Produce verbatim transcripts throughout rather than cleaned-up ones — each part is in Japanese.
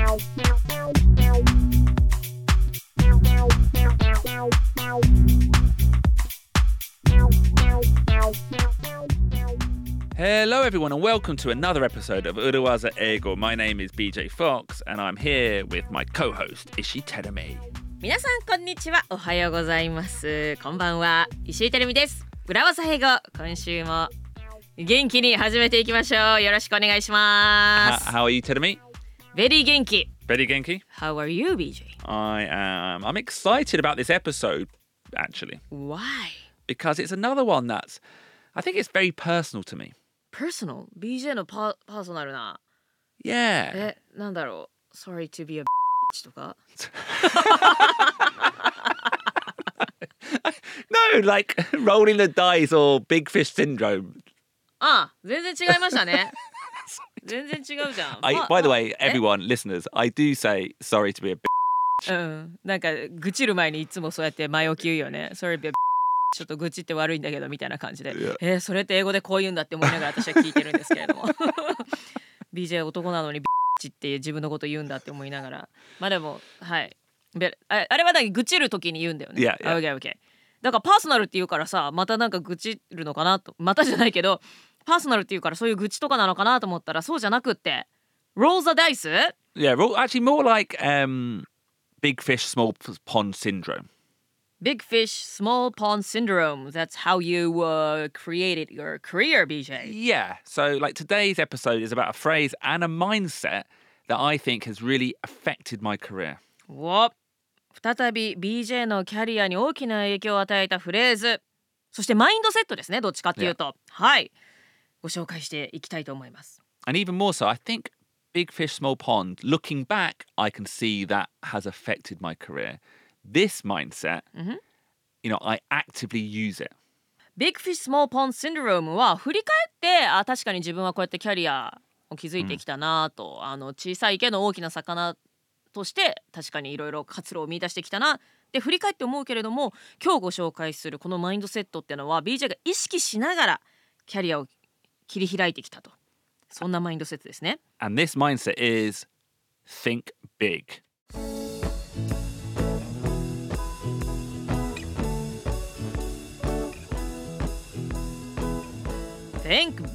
Hello everyone and welcome to another episode of Urawaza Eigo. My name is B J Fox and I'm here with my co-host Ishii Terumi. 皆さんこんにちは、おはようございます。こんばんは、石井てるみです。裏技英語、今週も元気に始めていきましょう。よろしくお願いします。 How are you, Terumi? Very 元気。 Very genki? How are you, B J? I am. I'm excited about this episode, actually. Why? Because it's another one that's, I think it's very personal to me. Personal? ビージェー のパ、パーソナルな。 Yeah. え、なんだろう Sorry to be a bitch とか No, like rolling the dice or big fish syndrome. ああ、全然違いましたね。全然違うじゃん。 I, by the way, everyone, listeners, I do say sorry to be a bitch. うん、なんか愚痴る前にいつもそうやって前置き言うよね。Sorry to be a bitch. ちょっと愚痴って悪いんだけどみたいな感じで、 yeah. えー、それって英語でこう言うんだって思いながら私は聞いてるんですけれどもビージェー 男なのにビッチって自分のこと言うんだって思いながら、まあでもはいあ, あれはだけ愚痴る時に言うんだよね。 yeah, yeah. Okay, okay. だからパーソナルって言うからさ、またなんか愚痴るのかなと、またじゃないけどパーソナルって言うからそういう愚痴とかなのかなと思ったらそうじゃなくって Roll the dice? Yeah, actually more like um, big fish, small pond syndrome. Big fish, small pond syndrome. That's how you uh, created your career, B J. Yeah. So, like today's episode is about a phrase and a mindset that I think has really affected my career. お、再び ビージェー のキャリアに大きな影響を与えたフレーズ。そしてマインドセットですね。どっちかっていうと、yeah. はい。ご紹介していきたいと思います。 And even more so, I think big fish, small pond. Looking back, I can see that has affected my career.This mindset, mm-hmm. you know, I actively use it. Big fish, small pond syndrome は振り返ってあ確かに自分はこうやってキャリアを築いてきたなと、うん、あの小さいけど大きな魚として確かにいろいろ活路を見出してきたなって振り返って思うけれども、今日ご紹介するこのマインドセットっていうのは ビージェー が意識しながらキャリアを切り開いてきたと、そんなマインドセットですね。 And this mindset is think big.Think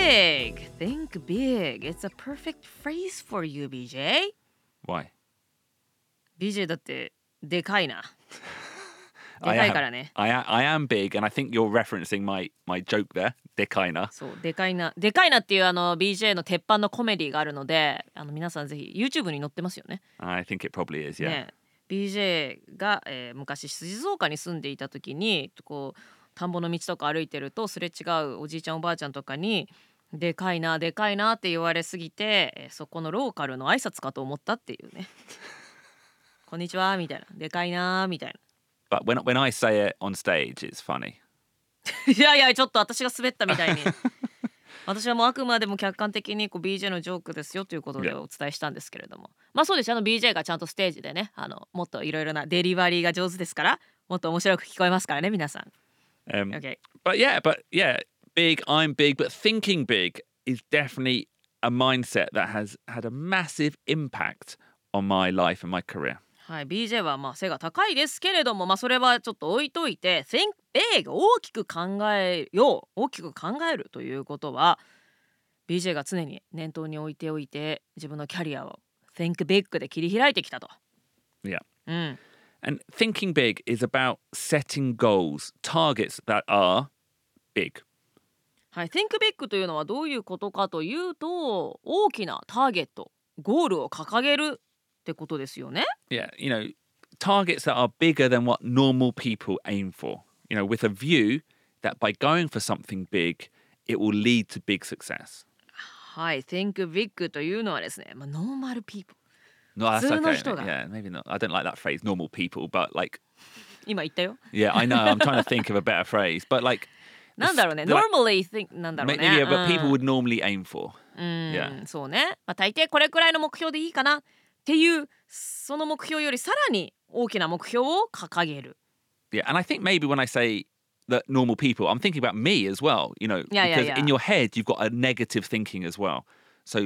big. Think big. It's a perfect phrase for you, ビージェー. Why? ビージェー だってでかいな。でかいからね。 I am, I am big, and I think you're referencing my, my joke there. でかいな。 そう、でかいな。でかいなっていうあの ビージェー の鉄板のコメディがあるので、あの皆さんぜひ YouTube に載ってますよね。 I think it probably is, yeah. ね、ビージェー が、えー、昔静岡に住んでいた時にこう田んぼの道とか歩いてるとすれ違うおじいちゃんおばあちゃんとかにでかいなでかいなって言われすぎて、そこのローカルの挨拶かと思ったっていうねこんにちはみたいな、でかいなみたいな。 But when, when I say it on stage, it's funny. いやいや、ちょっと私が滑ったみたいに私はもうあくまでも客観的にこう ビージェー のジョークですよということでお伝えしたんですけれども、yeah. まあそうです。あの ビージェー がちゃんとステージでね、あのもっといろいろなデリバリーが上手ですから、もっと面白く聞こえますからね皆さん。 Um, okay. But yeah, but yeah, big, I'm big, but thinking big is definitely a mindset that has had a massive impact on my life and my career. はい、ビージェー はまあ背が高いですけれども、まあそれはちょっと置いといて、think big 大きく考えよう、大きく考えるということは ビージェー が常に念頭に置いておいて、自分のキャリアを think big で切り開いてきたと。 Yeah. うん。 And thinking big is about setting goals, targets that are big. はい、think big というのはどういうことかというと、大きなターゲット、ゴールを掲げるってことですよね。 Yeah, you know, targets that are bigger than what normal people aim for. You know, with a view that by going for something big, it will lead to big success. はい、think big というのはですね、まあ、normal people。No, that's okay. Yeah, maybe not. I don't like that phrase, normal people, but like... 今言ったよ。 Yeah, I know. I'm trying to think of a better phrase, but like... なんだろうね。normally think なんだろうね。 Maybe, yeah, but people would normally aim for. うん、yeah. そうね。まあ、大抵これくらいの目標でいいかなっていう、その目標よりさらに大きな目標を掲げる。 Yeah, and I think maybe when I say that normal people, I'm thinking about me as well, you know, yeah, because yeah, yeah. in your head, you've got a negative thinking as well. So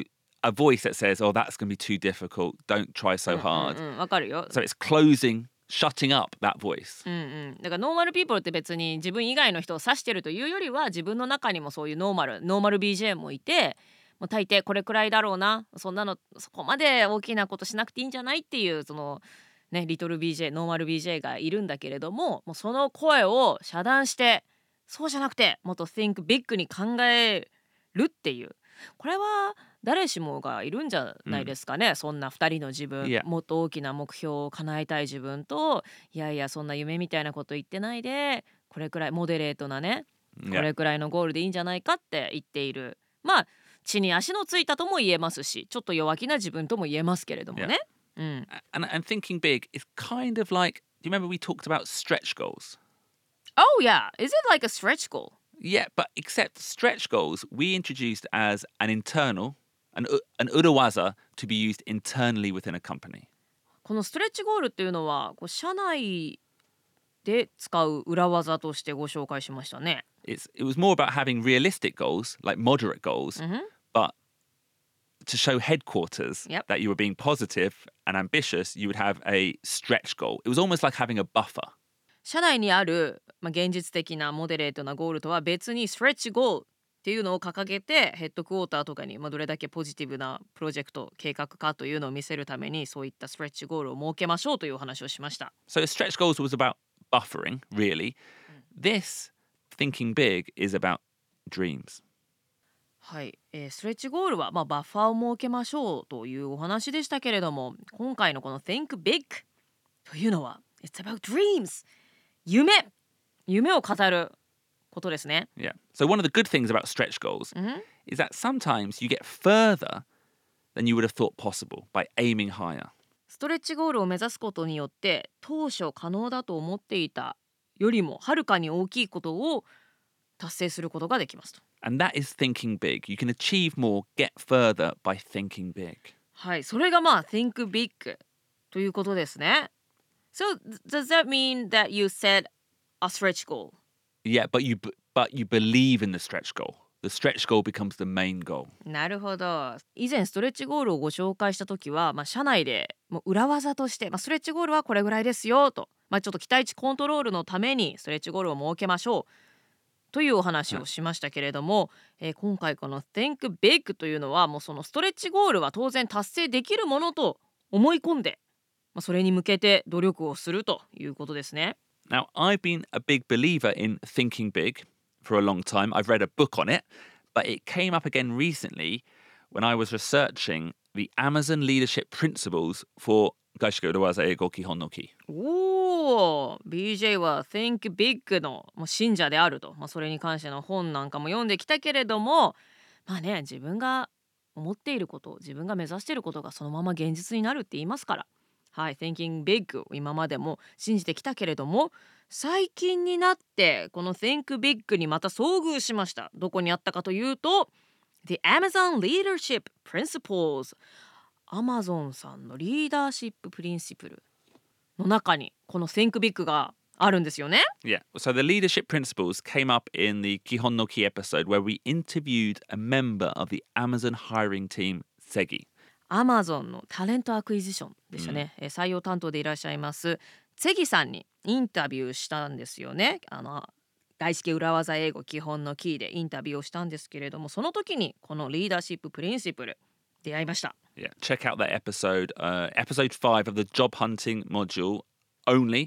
a voice that says, oh, that's going to be too difficult. Don't try so うん hard. うんうん、わかるよ。 So it's closing, shutting up that voice. うんうん、だからノーマルピーポルって別に自分以外の人を指してるというよりは自分の中にもそういうノーマルノーマル ビージェー もいて、もう大抵これくらいだろうな、そんなのそこまで大きなことしなくていいんじゃないっていうそのねリトル ビージェー ノーマル ビージェー がいるんだけれども、もうその声を遮断してそうじゃなくてもっと think big に考えるっていう、これは誰しもがいるんじゃないですかね、うん、そんなふたりの自分、 yeah. もっと大きな目標を叶えたい自分と、いやいやそんな夢みたいなこと言ってないでこれくらいモデレートなね、これくらいのゴールでいいんじゃないかって言っている、まあ地に足のついたとも言えますし、ちょっと弱気な自分とも言えますけれどもね、yeah. うん、 and, and thinking big is kind of like, do you remember we talked about stretch goals? Oh yeah, is it like a stretch goal? Yeah, but except stretch goals we introduced as an internal An, an urawaza to be used internally within a company. このストレッチゴールっていうのはこう社内で使う裏技としてご紹介しましたね。 It's, it was more about having realistic goals, like moderate goals, mm-hmm. but to show headquarters yep. that you were being positive and ambitious, you would have a stretch goal. It was almost like having a buffer. 社内にある、まあ、現実的なモデレートなゴールとは別にストレッチゴールっていうのを掲げてヘッドクォーターとかに、まあ、どれだけポジティブなプロジェクト計画かというのを見せるためにそういったストレッチゴールを設けましょうというお話をしました。 So stretch goals was about buffering, really. This thinking big is about dreams. はい、えー、ストレッチゴールは、まあ、バッファーを設けましょうというお話でしたけれども、今回のこの Think Big というのは It's about dreams 夢夢を語ることですね。 Yeah. So one of the good things about stretch goals mm-hmm. is that sometimes you get further than you would have thought possible by aiming higher. ストレッチゴールを目指すことによって当初可能だと思っていたよりもはるかに大きいことを達成することができますと。 And that is thinking big. You can achieve more, get further by thinking big. はい、それがまあ Think Big ということですね。So does that mean that you set a stretch goal?Yeah, but you but you believe in the stretch goal. The stretch goal becomes the main goal. なるほど。以前ストレッチゴールをご紹介した時は、まあ、社内でもう裏技として、まあ、ストレッチゴールはこれぐらいですよと、まあ、ちょっと期待値コントロールのためにストレッチゴールを設けましょうというお話をしましたけれども、うん、えー、今回この Think Big というのはもうそのストレッチゴールは当然達成できるものと思い込んで、まあ、それに向けて努力をするということですね。 Now, I've been a big believer in thinking big for a long time. I've read a book on it, but it came up again recently when I was researching the Amazon leadership principles for Gaishiku Urawaza Eigo Kihon no Ki. おー、ビージェー は Think Big の信者であると、まあ、それに関しての本なんかも読んできたけれども、まあね、自分が思っていること、自分が目指していることがそのまま現実になるって言いますから。はい、Thinking Big を今までも信じてきたけれども、最近になってこの Think Big にまた遭遇しました。どこにあったかというと The Amazon Leadership Principles、 Amazon さんのリーダーシッププリンシプルの中にこの Think Big があるんですよね。 Yeah, so the leadership principles came up in the Kihon no Ki episode where we interviewed a member of the Amazon hiring team, Segi。 アマゾンのタレントアクイジションでしたね、うん、採用担当でいらっしゃいますツェギさんにインタビューしたんですよね。あの大式裏技英語基本のキーでインタビューをしたんですけれども、その時にこのリーダーシッププリンシプル出会いました。 Yeah, check out that episode、uh, episode five of the job hunting module only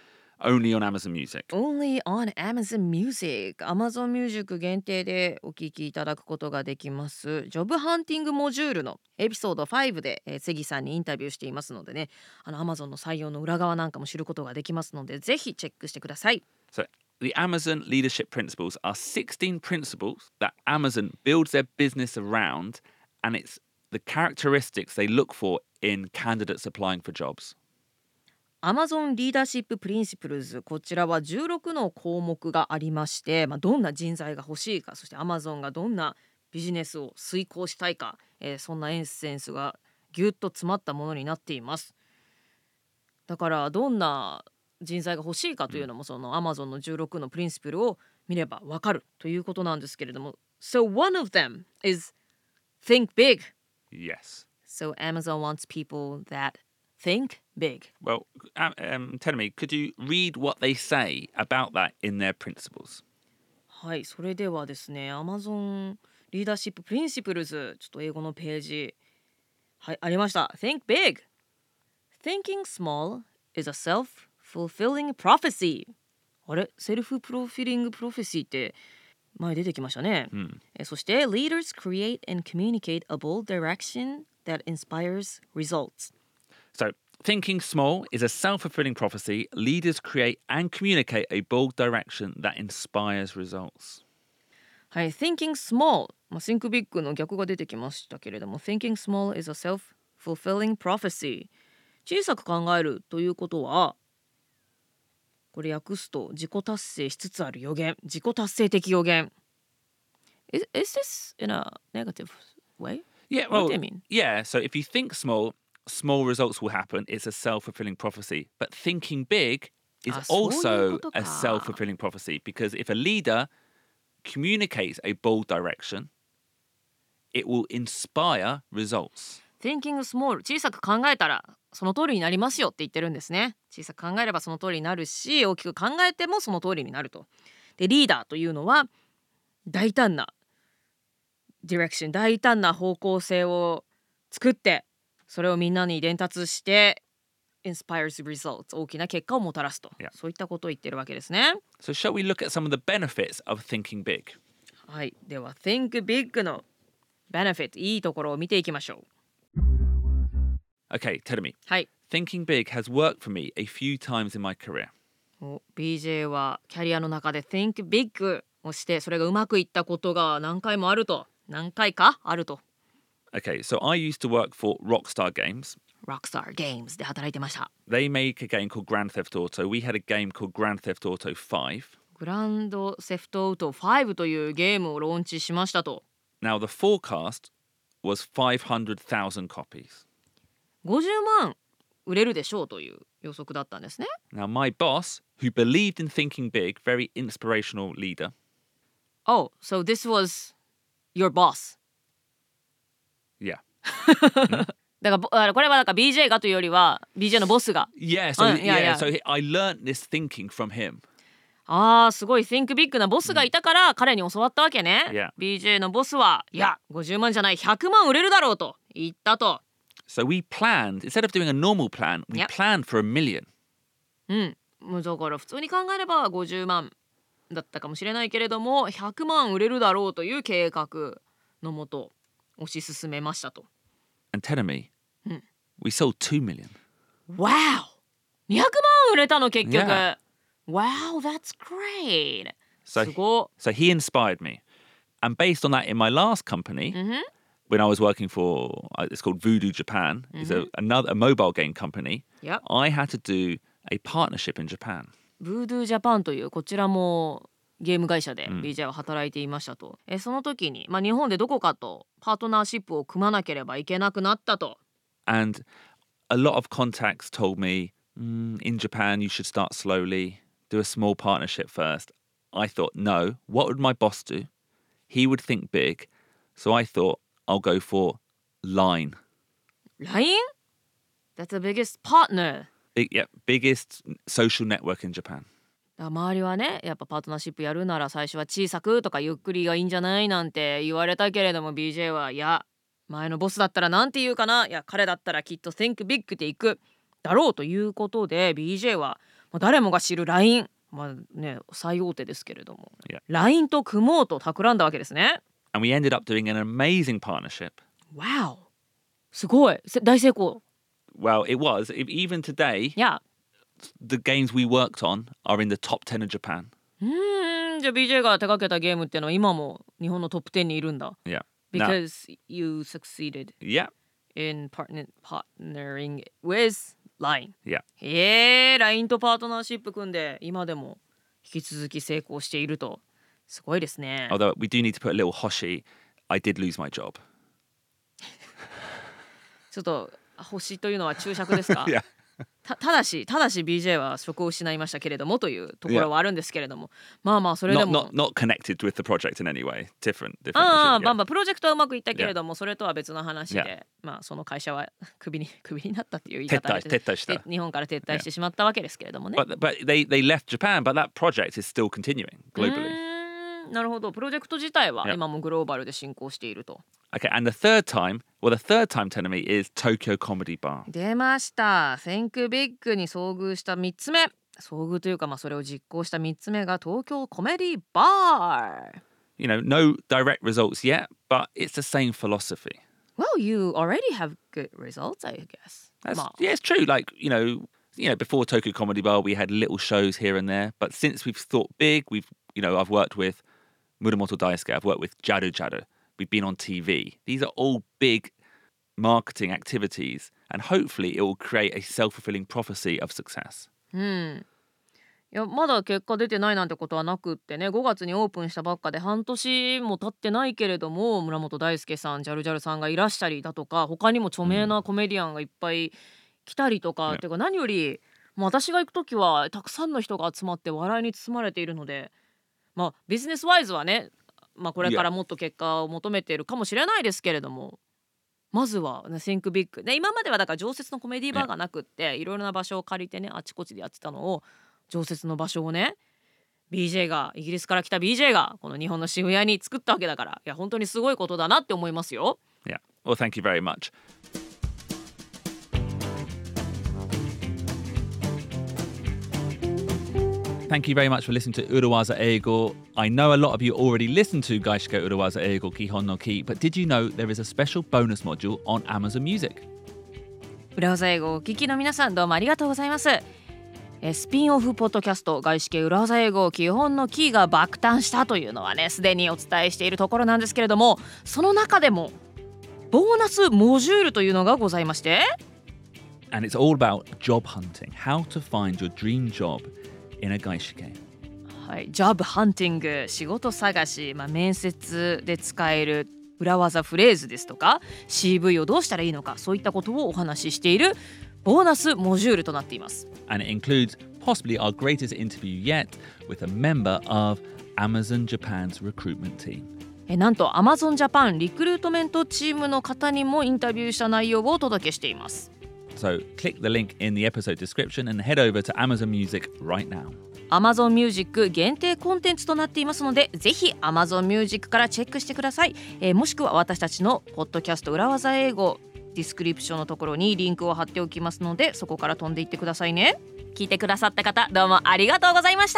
Only on Amazon Music. Only on Amazon Music. Amazon Music 限定でお聞きいただくことができます。ジョブハンティングモジュールのエピソードごで、えー、セギさんにインタビューしていますのでね、あの Amazon の採用の裏側なんかも知ることができますので、ぜひチェックしてください。 So, the Amazon leadership principles are sixteen principles that Amazon builds their business around, and it's the characteristics they look for in candidates applying for jobs. Amazon リーダーシッププリンシプルズ、こちらはじゅうろくの項目がありまして、まあ、どんな人材が欲しいか、そして Amazon がどんなビジネスを遂行したいか、えー、そんなエッセンスがぎゅっと詰まったものになっています。だからどんな人材が欲しいかというのも、その Amazon のじゅうろくのプリンシプルを見ればわかるということなんですけれども、 So one of them is think big Yes. So Amazon wants people that think big. Well, um, um, tell me, could you read what they say about that in their principles? はい、それではですね、Amazon リーダーシッププリンシプルズ、ちょっと英語のページ、はい、ありました。Think big. Thinking small is a self-fulfilling prophecy. あれセルフプロフィリングプロフェシーって前出てきましたね。 Hmm. えそして Leaders create and communicate a bold direction that inspires results. So, thinking small is a self-fulfilling prophecy. Leaders create and communicate a bold direction that inspires results. はい、Thinking small、まあ、Think big の逆が出てきましたけれども Thinking small is a self-fulfilling prophecy。 小さく考えるということはこれ訳すと自己達成しつつある予言、自己達成的予言。Is, is this in a negative way? Yeah, What well, do you mean? yeah. So, if you think small, small results will happen. It's a self-fulfilling prophecy. But thinking big is あ、そういう also ことか。 a self-fulfilling prophecy because if a leader communicates a bold direction, it will inspire results. Thinking small 小さく考えたらその通りになりますよって言ってるんですね。小さく考えればその通りになるし、大きく考えてもその通りになると。でリーダーというのは大胆なディレクション、大胆な方向性を作ってそれをみんなに伝達して inspires results 大きな結果をもたらすと、 Yeah. そういったことを言ってるわけですね。 So, shall we look at some of the benefits of thinking big? はい、では Think Big の benefit いいところを見ていきましょう。 Okay, tell me. はい、 Thinking big has worked for me a few times in my career. お ビージェー はキャリアの中で Think Big をしてそれがうまくいったことが何回もあると、何回かあると。 Okay, so I used to work for Rockstar Games. Rockstar Games で働いてました。 They make a game called Grand Theft Auto. We had a game called Grand Theft Auto five. グランドセフトオートファイブというゲームをローンチしましたと。 Now, the forecast was five hundred thousand copies. ごじゅうまん売れるでしょうという予測だったんですね。 Now, my boss, who believed in thinking big, very inspirational leader. Oh, so this was your boss. Yeah. だからぼあこれはだから ビージェー がというよりは ビージェー のボスが。 Yeah, so, Uh, yeah, yeah, yeah. so he- I learnt this thinking from him. ああ、すごい Think Big なボスがいたから彼に教わったわけね。 Yeah. ビージェー のボスはいやごじゅうまんじゃないひゃくまん売れるだろうと言ったと。 So we planned, instead of doing a normal plan, we Yep. planned for a million. うんもうだから普通に考えればごじゅうまんだったかもしれないけれどもひゃくまん売れるだろうという計画のもと推し進めましたと。 And tell me, Hmm. we sold two million. Wow! にひゃくまん売れたの結局。 Yeah. Wow, that's great. So, すご so he inspired me. And based on that, in my last company, い。うんふん when I was working for, uh, it's called Voodoo Japan, it's a, another a mobile game company. Yep. I had to do a partnership in Japan. ブードゥージャパンというこちらもゲーム会社でうんビージェー は働いていましたと。えその時に、まあ、日本でどこかとパートナーシップを組まなければいけなくなったと。 And a lot of contacts told me, mm, in Japan, you should start slowly, do a small partnership first. I thought, no, what would my boss do? He would think big. So I thought, I'll go for Line. ライン That's the biggest partner. Big, yeah, biggest social network in Japan. だから周りはねやっぱパートナーシップやるなら最初は小さくとかゆっくりがいいんじゃないなんて言われたけれども ビージェー はいや前のボスだったらなんて言うかないや彼だったらきっと Think Big でいくだろうということで ビージェー はまあ誰もが知る ライン まあね最大手ですけれども Yeah. ライン と組もうと企んだわけですね。 And we ended up doing an amazing partnership. Wow すごいせ大成功。 Well, it was. If, even today, いや the games we worked on are in the top ten of Japan. うーんじゃあ ビージェー が手掛けたゲームっていうのは今も日本のトップテンにいるんだ。 Yeah. Now, Because you succeeded yeah, in partner, partnering with ライン。 yeah. へえ ライン とパートナーシップ組んで今でも引き続き成功しているとすごいですね。 Although we do need to put a little hoshi, I did lose my job. ちょっと星というのは注釈ですか？ Yeah. た, ただしただし ビージェー は職を失いましたけれどもというところはあるんですけれども、まあまあそれで Not, も not, not connected with the project in any way. Different, different ああ issue. バ Yeah. ンバンプロジェクトはうまくいったけれども、それとは別の話で、 Yeah. まあその会社はクビにクビになったっていう言い方で撤退撤退したで日本から撤退してしまったわけですけれどもね。 But, but they, they left Japan, but that project is still continuing う globally. ーんなるほど。プロジェクト自体は Yeah. 今もグローバルで進行していると。 Okay, and the third time, well, the third time telling me is Tokyo Comedy Bar. 出ました。Think Big に遭遇したみっつめ、遭遇というかまあそれを実行したみっつめが東京コメディバー。 You know, no direct results yet, but it's the same philosophy. Well, you already have good results, I guess. That's, まあ yeah, it's true. Like, you know, you know, before Tokyo Comedy Bar, we had little shows here and there. But since we've thought big, we've, you know, I've worked with Muramoto Daisuke, I've worked with Jaru Jaru, we've been on T V. These are all big marketing activities, and hopefully it will create a self-fulfilling prophecy of success. うん。いやまだ結果出てないなんてことはなくってね、ごがつにオープンしたばっかで半年も経ってないけれども、村本大輔さん、ジャルジャルさんがいらしたりだとか、他にも著名なコメディアンがいっぱい来たりとか、 ねっていうか何よりもう私が行く時はたくさんの人が集まって笑いに包まれているので、まあビジネスワイズはね、まあこれからもっと結果を求めているかもしれないですけれども、まずは、ね、Think Big で、今まではだから常設のコメディバーがなくって、いろいろな場所を借りてね、あちこちでやってたのを、常設の場所をね ビージェー がイギリスから来た ビージェー がこの日本の渋谷に作ったわけだから、いや本当にすごいことだなって思いますよ。 Yeah. Well, thank you very much. Thank you very much for listening to Urawaza Eigo. I know a lot of you already listen to Gaishika Urawaza Eigo Kihon no Ki, but did you know there is a special bonus module on Amazon Music? 裏技英語をお聞きの皆さん、どうもありがとうございます。えスピンオフポッドキャスト外資系裏技英語基本のキーが爆誕したというのはね、すでにお伝えしているところなんですけれども、その中でもボーナスモジュールというのがございまして、 And it's all about job hunting, how to find your dream job in a gaishike. はい、ジョブハンティング、仕事探し、まあ、面接で使える裏技フレーズですとか シーブイ をどうしたらいいのか、そういったことをお話ししているボーナスモジュールとなっています。 And it includes possibly our greatest interview yet with a member of Amazon Japan's recruitment team. えなんと Amazon Japan リクルートメントチームの方にもインタビューした内容をお届けしています。 So click the link in the episode description and head over to Amazon Music right now. Amazon Music 限定コンテンツとなっていますので、ぜひ Amazon Music からチェックしてください。えー、もしくは私たちのポッドキャスト裏技英語ディスクリプションのところにリンクを貼っておきますので、そこから飛んでいってくださいね。聞いてくださった方、どうもありがとうございました。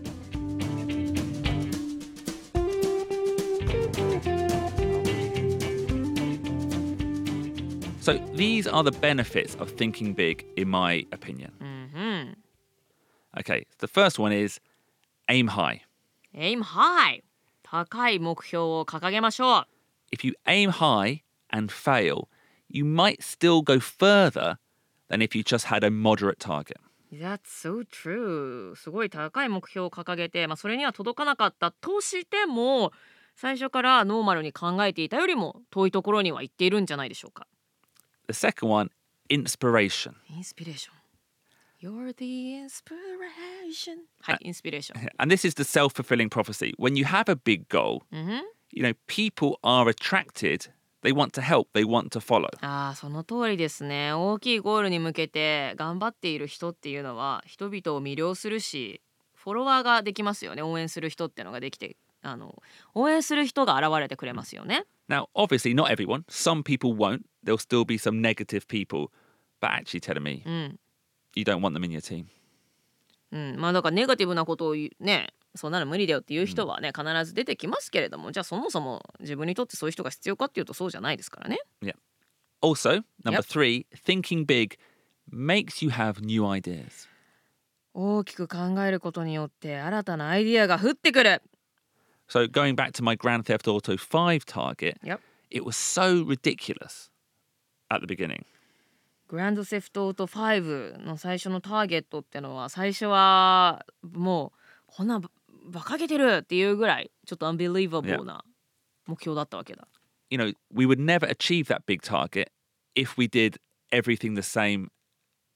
So these are the benefits of thinking big, in my opinion. うんうん。 Okay, the first one is aim high. Aim high。高い目標を掲げましょう。 If you aim high and fail, you might still go further than if you just had a moderate target. That's so true. すごい高い目標を掲げて、まあ、それには届かなかったとしても、最初からノーマルに考えていたよりも遠いところには行っているんじゃないでしょうか。 The second one, inspiration. インスピレーション。You're the inspiration. はい、インスピレーション。 And this is the self-fulfilling prophecy. When you have a big goal, Mm-hmm. you know, people are attracted. They want to help. They want to follow. ああ、その通りですね。大きいゴールに向けて頑張っている人っていうのは人々を魅了するし、フォロワーができますよね。応援する人ってのができて、あの応援する人が現れてくれますよね。 Now, obviously, not everyone. Some people won't. There'll still be some negative people. But actually telling me, うん。 you don't want them in your team. うん、まあだからネガティブなことを言うね、そんなの無理だよっていう人はね、必ず出てきますけれども、じゃあそもそも自分にとってそういう人が必要かっていうとそうじゃないですからね。 Yeah. Also, number Yep. three, thinking big makes you have new ideas. 大きく考えることによって新たなアイディアが降ってくる。 So going back to my Grand Theft Auto five target, Yep. it was so ridiculous at the beginning. グランドセフトオートファイブの最初のターゲットってのは、最初はもうこんな馬鹿げてるっていうぐらいちょっと unbelievable な目標だったわけだ。 You know, we would never achieve that big target if we did everything the same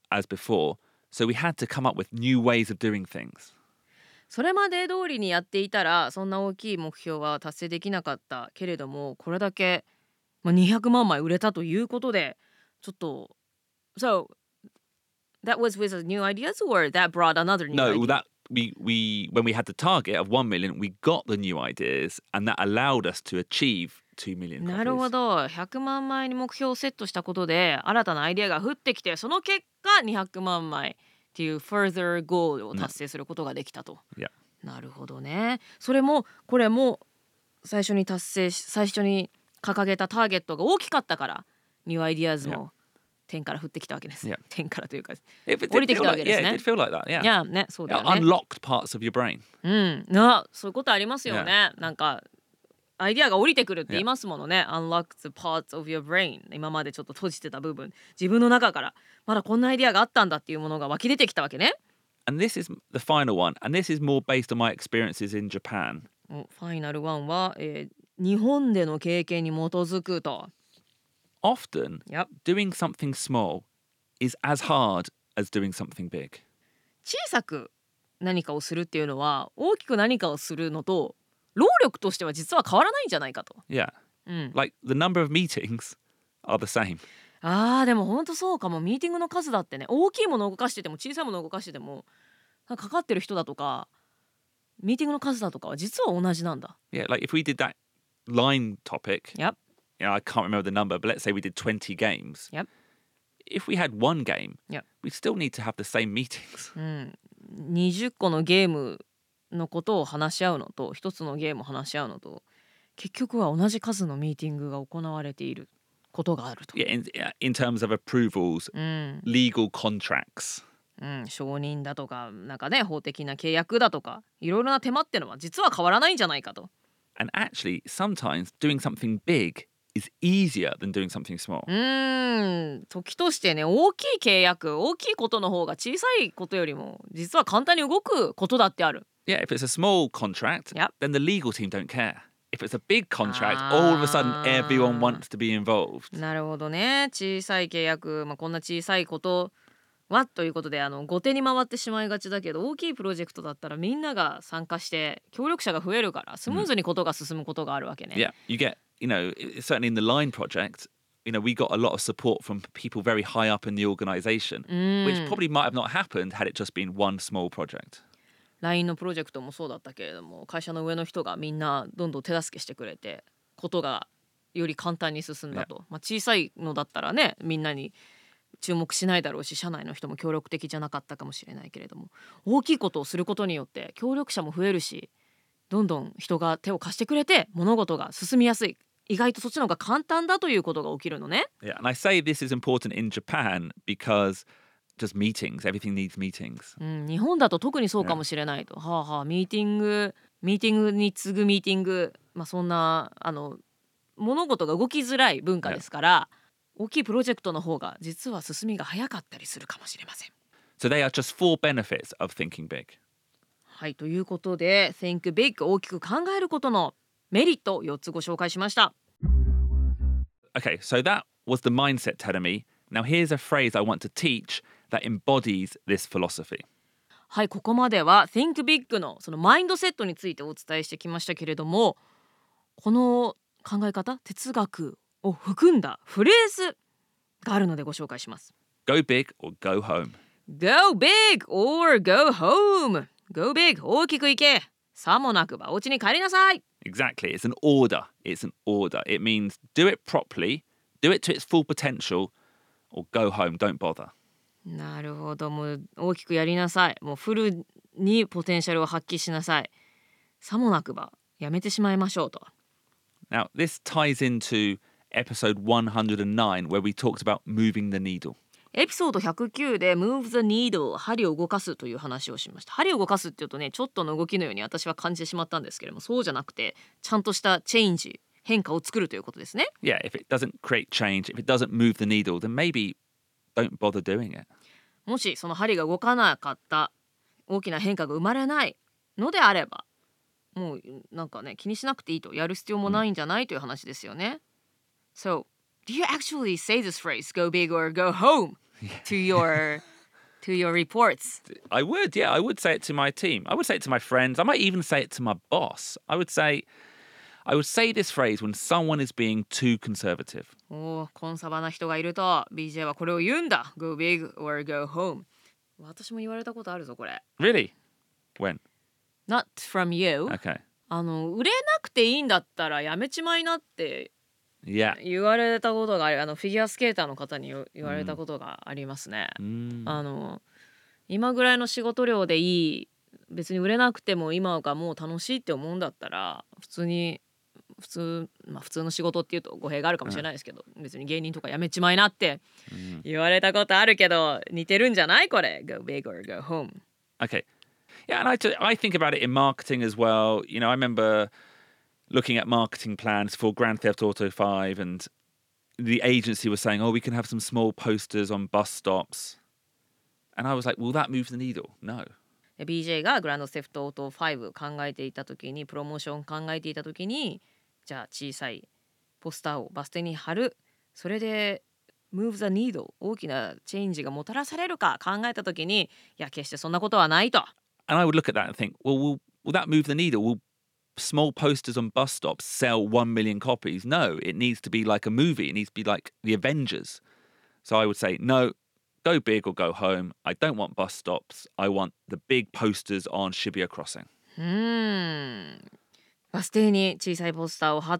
as before, so we had to come up with new ways of doing things. それまで通りにやっていたらそんな大きい目標は達成できなかったけれども、これだけ、まあ、にひゃくまんまい売れたということで、ちょっと So that was with new ideas or that brought another new No, idea? that we we when we had the target of one million, we got the new ideas, and that allowed us to achieve two million なるほ copies. ど、ひゃくまんまいに目標をセットしたことで新たなアイデアが降ってきて、その結果にひゃくまんまいっていう further goal を達成することができたと。 Yeah. なるほどね。それもこれも最初に達成し最初に掲げたターゲットが大きかったからニューアイディアズも天から降ってきたわけです。 Yeah. 天からというか If it 降り did てき feel たわ like, けです yeah, ね。 it did feel like that. Yeah. いやね、そうだ It よね。 unlocked parts of your brain. うん、なそういうことありますよね。なんかアイディアが降りてくるって言いますものね。Unlock the parts of your brain。今までちょっと閉じてた部分、自分の中からまだこんなアイディアがあったんだっていうものが湧き出てきたわけね。 And this is the final one, and this is more based on my experiences in Japan. おファイナルワンは、えー日本での経験に基づくと。 Often, Yep. doing something small is as hard as doing something big. 小さく何かをするっていうのは大きく何かをするのと労力としては実は変わらないんじゃないかと。 Yeah. うん、 Like the number of meetings are the same. あーでも本当そうかも。ミーティングの数だってね、大きいものを動かしてても小さいものを動かしててもなんかかかってる人だとかミーティングの数だとかは実は同じなんだ。 Yeah, like if we did that line topic, Yep. you know, I can't remember the number, but let's say we did twenty games. Yep. If we had one game, Yep. we still need to have the same meetings. うん、にじゅっこのゲームのことを話し合うのと一つのゲームを話し合うのと結局は同じ数のミーティングが行われていることがあると。 Yeah, in, in terms of approvals, うん、 legal contracts. うん、承認だとかなんかね法的な契約だとかいろいろな手間ってのは実は変わらないんじゃないかと。 And actually, sometimes doing something big is easier than doing something small. うーん時としてね、大きい契約大きいことの方が小さいことよりも実は簡単に動くことだってある。 Yeah, if it's a small contract, Yep. then the legal team don't care. If it's a big contract, all of a sudden everyone wants to be involved. なるほどね。小さい契約、まあ、こんな小さいことはということであの後手に回ってしまいがちだけど、大きいプロジェクトだったらみんなが参加して協力者が増えるからスムーズにことが進むことがあるわけね。 Yeah, you get, you know, certainly in the Line project, you know, we got a lot of support from people very high up in the organization, うん which probably might have not happened had it just been one small project. ライン のプロジェクトもそうだったけれども、会社の上の人がみんなどんどん手助けしてくれてことがより簡単に進んだと。まあ、小さいのだったらねみんなに注目しないだろうし社内の人も協力的じゃなかったかもしれないけれども、大きいことをすることによって協力者も増えるしどんどん人が手を貸してくれて物事が進みやすい。意外とそっちの方が簡単だということが起きるのね。 Yeah, and I say this is important in Japan because just meetings, everything needs meetings. うん、日本だと特にそうかもしれないと。はあはあ、ミーティングミーティングに次ぐミーティング、まあ、そんなあの物事が動きづらい文化ですから、大きいプロジェクトの方が実は進みが早かったりするかもしれません。 So they are just four benefits of thinking big. はい、ということで Think Big 大きく考えることのメリットをよっつご紹介しました。 Okay, so that was the mindset telling me. Now here's a phrase I want to teach that embodies this philosophy. はい、ここまでは Think Big のそのマインドセットについてお伝えしてきましたけれども、この考え方哲学を含んだフレーズがあるのでご紹介します。 Go big or go home. Go big or go home. Go big 大きくいけ。さもなくばお家に帰りなさい。 Exactly, it's an order. It's an order. It means do it properly, do it to its full potential, or go home, don't bother. なるほど、もう大きくやりなさい。もうフルにポテンシャルを発揮しなさい。さもなくばやめてしまいましょうと。 Now, this ties into episode one hundred nine, where we talked about moving the needle. エピソードひゃくきゅうで Move the needle 針を動かすという話をしました。針を動かすっていうとね、ちょっとの動きのように私は感じてしまったんですけれども、そうじゃなくてちゃんとしたチェンジ変化を作るということですね。 Yeah, if it doesn't create change, if it doesn't move the needle, then maybe don't bother doing it. もしその針が動かなかった、大きな変化が生まれないのであれば、もうなんかね気にしなくていいと、やる必要もないんじゃないという話ですよね。So, do you actually say this phrase, go big or go home, to your to your reports. I would, yeah, I would say it to my team. I would say it to my friends. I might even say it to my boss. I would say, I would say this phrase when someone is being too conservative. おー、コンサバな人がいると ビージェー はこれを言うんだ。Go big or go home. 私も言われたことあるぞこれ。 Really? When? Not from you. Okay. あの売れなくていいんだったらやめちまいなって Yeah. 言われたことがある。あのフィギュアスケーターの方に言われたことがありますね。 Mm. あの今ぐらいの仕事量でいい、別に売れなくても今がもう楽しいって思うんだったら普通に普通まあ普通の仕事っていうと語弊があるかもしれないですけど、別に芸人とかやめちまいなって言われたことあるけど、似てるんじゃないこれ。 Go big or go home. Okay. Yeah, and I, t- I think about it in marketing as well. You know, I remember looking at marketing plans for Grand Theft Auto five, and the agency was saying, oh, we can have some small posters on bus stops. And I was like, will that move the needle? No. ビージェー がグランドセフトオートファイブ考えていた時に、プロモーション考えていた時に、じゃあ小さいポスターをバス停に貼る、それで move the needle 大きなチェンジがもたらされるか考えた時に、いや決してそんなことはないと。 And I would look at that and think, well, will, will that move the needle? Will small posters on bus stops sell one million copies? No, it needs to be like a movie. It needs to be like the Avengers. So I would say, no, go big or go home. I don't want bus stops. I want the big posters on Shibuya Crossing. うーん。バス停に小さいポスターを貼って、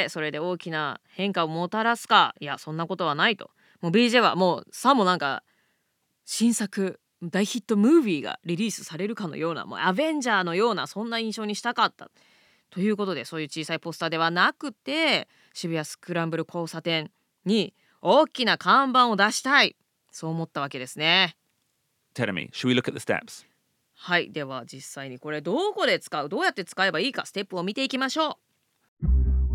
それで大きな変化をもたらすか。いや、そんなことはないと。もう ビージェー はもうさもなんか新作大ヒットムービーがリリースされるかのような、もうアベンジャーのようなそんな印象にしたかったということで、そういう小さいポスターではなくて、渋谷スクランブル交差点に大きな看板を出したい、そう思ったわけですね。 Tell me, should we look at the steps? はい、では実際にこれどこで使う、どうやって使えばいいか、ステップを見ていきましょう。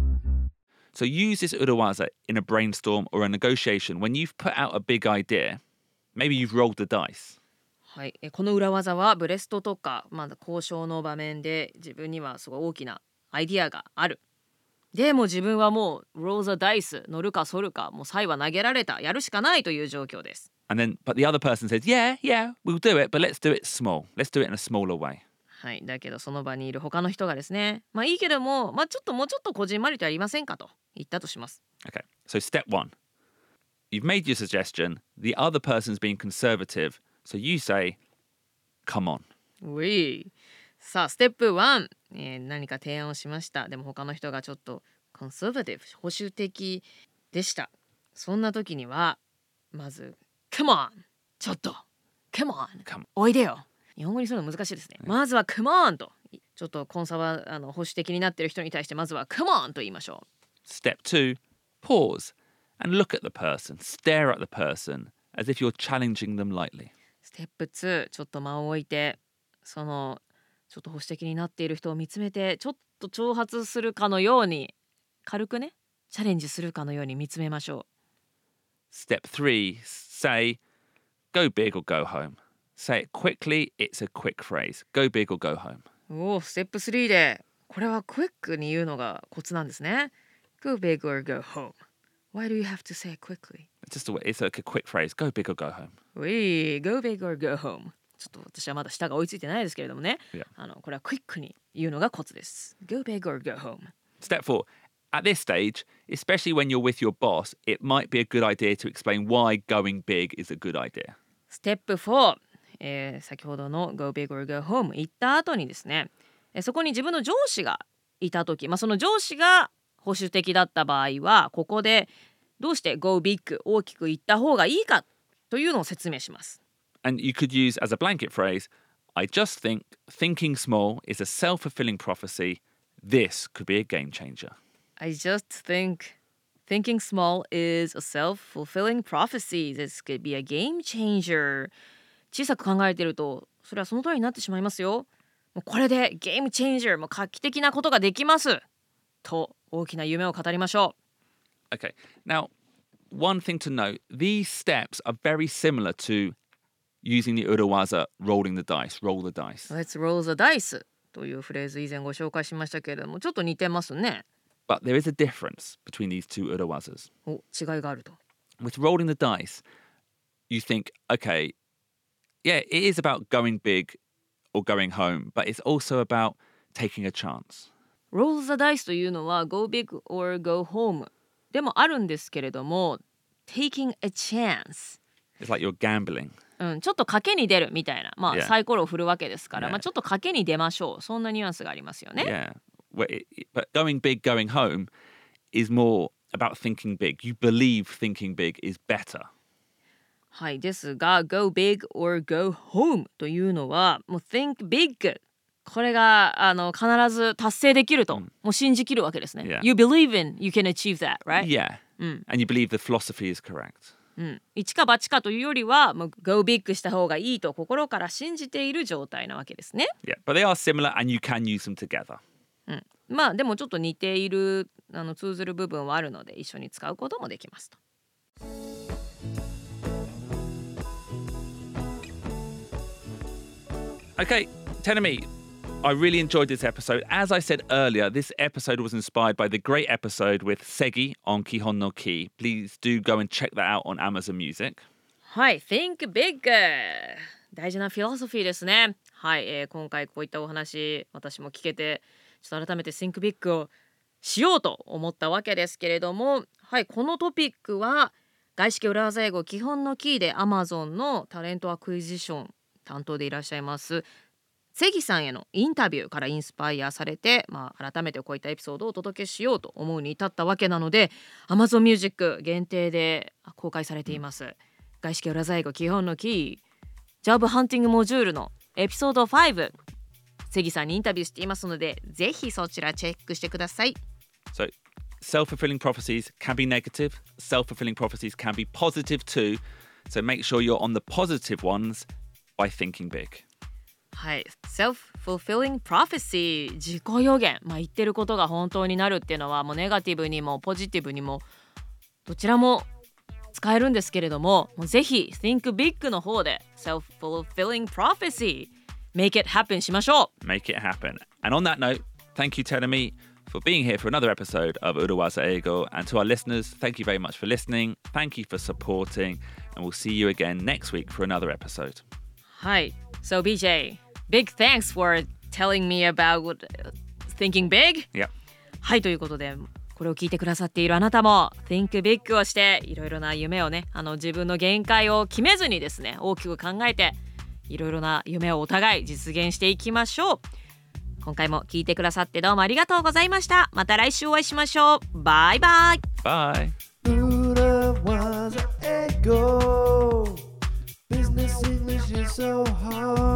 So use this urawaza in a brainstorm or a negotiation when you've put out a big idea. Maybe you've rolled the dice. はい、えこの裏技はブレストとか、まあ、交渉の場面で自分にはすごい大きなアイディアがある。でも自分はもうローザダイス、乗るか反るか、もうサイは投げられた、やるしかないという状況です。 And then, but the other person says, yeah, yeah, we'll do it, but let's do it small. Let's do it in a smaller way. はい、だけどその場にいる他の人がですね、まあいいけども、まあちょっともうちょっとこじんまりとやりませんかと言ったとします。 Okay, so step one. You've made your suggestion. The other person's being conservative. So you say, come on. うい。さあステップワン、えー、何か提案をしました。でも他の人がちょっとコンサバティブ、保守的でした。そんな時にはまず Come on ちょっと Come on Come. おいでよ。日本語にするの難しいですね。まずは Come on と、ちょっとコンサバあの保守的になっている人に対してまずは Come on と言いましょう。 Step two, pause and look at the person. Stare at the person as if you're challenging them lightly. ステップツー、ちょっと間を置いて、そのちょっと保守的になっている人を見つめて、ちょっと挑発するかのように、軽くね、チャレンジするかのように見つめましょう。 Step three, say, go big or go home. Say it quickly, it's a quick phrase. Go big or go home. おお、ステップスリーで、これはクイックに言うのがコツなんですね。 Go big or go home. Why do you have to say it quickly? It's just a, it's like a quick phrase. Go big or go home. うい、Go big or go home. ちょっと私はまだ舌が追いついてないですけれどもね。 Yeah. あのこれはクイックに言うのがコツです。Go big or go home. Step four, at this stage, especially when you're with your boss, it might be a good idea to explain why going big is a good idea. ステップフォー、えー、先ほどの Go big or go home 言った後にですね、えーそこに自分の上司がいた時、まあ、その上司が保守的だった場合は、ここでどうして Go big 大きく言った方がいいかというのを説明します。 And you could use as a blanket phrase, I just think thinking small is a self-fulfilling prophecy. This could be a game changer. I just think thinking small is a self-fulfilling prophecy. This could be a game changer. 小さく考えていると、それはその通りになってしまいますよ。もうこれでゲームチェンジャー、もう画期的なことができますと大きな夢を語りましょう。 Okay, now one thing to note, these steps are very similar to using the urawaza, rolling the dice, roll the dice. Let's roll the dice というフレーズ以前ご紹介しましたけれども、ちょっと似てますね。 But there is a difference between these two urawazas. お、違いがあると。 With rolling the dice, you think, okay, yeah, it is about going big or going home, but it's also about taking a chance. Roll the dice というのは go big or go home でもあるんですけれども taking a chance It's like you're gambling. うん、ちょっと賭けに出るみたいな、まあ、 Yeah. サイコロを振るわけですから、 Yeah. まあ、ちょっと賭けに出ましょうそんなニュアンスがありますよね。 Yeah. Well, it, it- but going big, going home is more about thinking big. You believe thinking big is better. はいですが go big or go home というのはもう think big これがあの必ず達成できると、もう信じきるわけですね。 Yeah. You believe in you can achieve that, right? Yeah. Mm. And you believe the philosophy is correct. うん、一か八かというよりはもう go big した方がいいと心から信じている状態なわけですね。 Yeah. But they are similar and you can use them together. うん、まあでもちょっと似ているあの通ずる部分はあるので一緒に使うこともできますと。 Okay, Tenemi, I really enjoyed this episode. As I said earlier, this episode was inspired by the great episode with Segi on Kihon no Ki. Please do go and check that out on Amazon Music. はい Think big 大事なフィロソフィーですね。はい、えー、今回こういったお話私も聞けてちょっと改めて Think big をしようと思ったわけですけれども、はい、このトピックは外資系裏技英語基本のキーで Amazon のタレントアクイジション担当でいらっしゃいますセギさんへのインタビューからインスパイアされて、まあ、改めてこういったエピソードをお届けしようと思うに至ったわけなので Amazon Music 限定で公開されています、外資系裏技英語基本のキージョブハンティングモジュールのエピソードファイブセギさんにインタビューしていますのでぜひそちらチェックしてください。 So, self-fulfilling prophecies can be negative. Self-fulfilling prophecies can be positive too. So make sure you're on the positive ones by thinking big. はい、self-fulfilling prophecy 自己予言、まあ、言ってることが本当になるっていうのはもうネガティブにもポジティブにもどちらも使えるんですけれども、もうぜひ think big の方で self-fulfilling prophecy make it happen しましょう。 Make it happen. And on that note, thank you, Tenemi, for being here for another episode of Urawaza Eigo. And to our listeners, thank you very much for listening. Thank you for supporting. And we'll see you again next week for another episode. はい、So B J, big thanks for telling me about thinking big. Yeah. はい、ということでこれを聞いてくださっているあなたも Think big をしていろいろな夢をね、あの自分の限界を決めずにですね、大きく考えていろいろな夢をお互い実現していきましょう。今回も聞いてくださってどうもありがとうございました。また来週お会いしましょう。バイバイ。 Bye. Urawaza Eigo. Business English is so hard.